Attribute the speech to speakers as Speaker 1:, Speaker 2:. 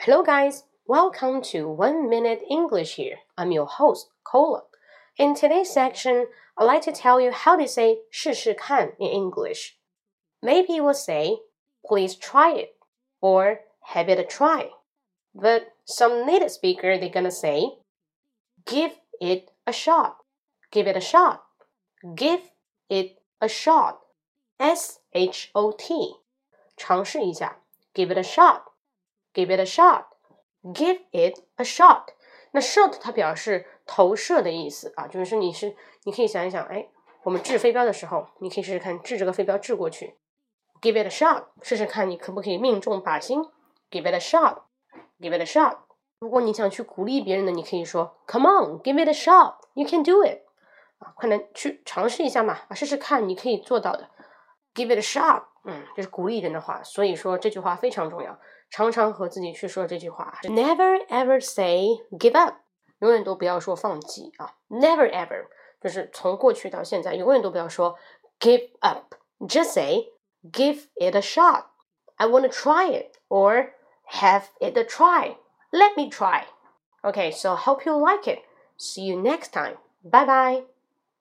Speaker 1: Hello guys, welcome to 1 Minute English here. I'm your host, Cola. In today's section, I'd like to tell you how to say 试试看 in English. Maybe you will say, please try it, or have it a try. But some native speaker, they're gonna say, give it a shot. Give it a shot. Give it a shot. S-H-O-T. 尝试一下 Give it a shot.Give it a shot. Give it a shot. 那 shot 它表示投射的意思啊，就是你可以想一想，我们掷飞镖的时候，你可以试试看掷这个飞镖掷过去。Give it a shot. 试试看你可不可以命中靶心。Give it a shot. Give it a shot. 如果你想去鼓励别人的，你可以说 Come on, give it a shot. You can do it. 啊，快点去尝试一下嘛，试试看你可以做到的。Give it a shot. 这是鼓励人的话，所以说这句话非常重要。常常和自己去说这句话 Never ever say give up. 永远都不要说放弃啊 Never ever 就是从过去到现在永远都不要说 give up. Just say give it a shot. I want to try it. Or have it a try. Let me try. Okay, so hope you like it. See you next time. Bye bye.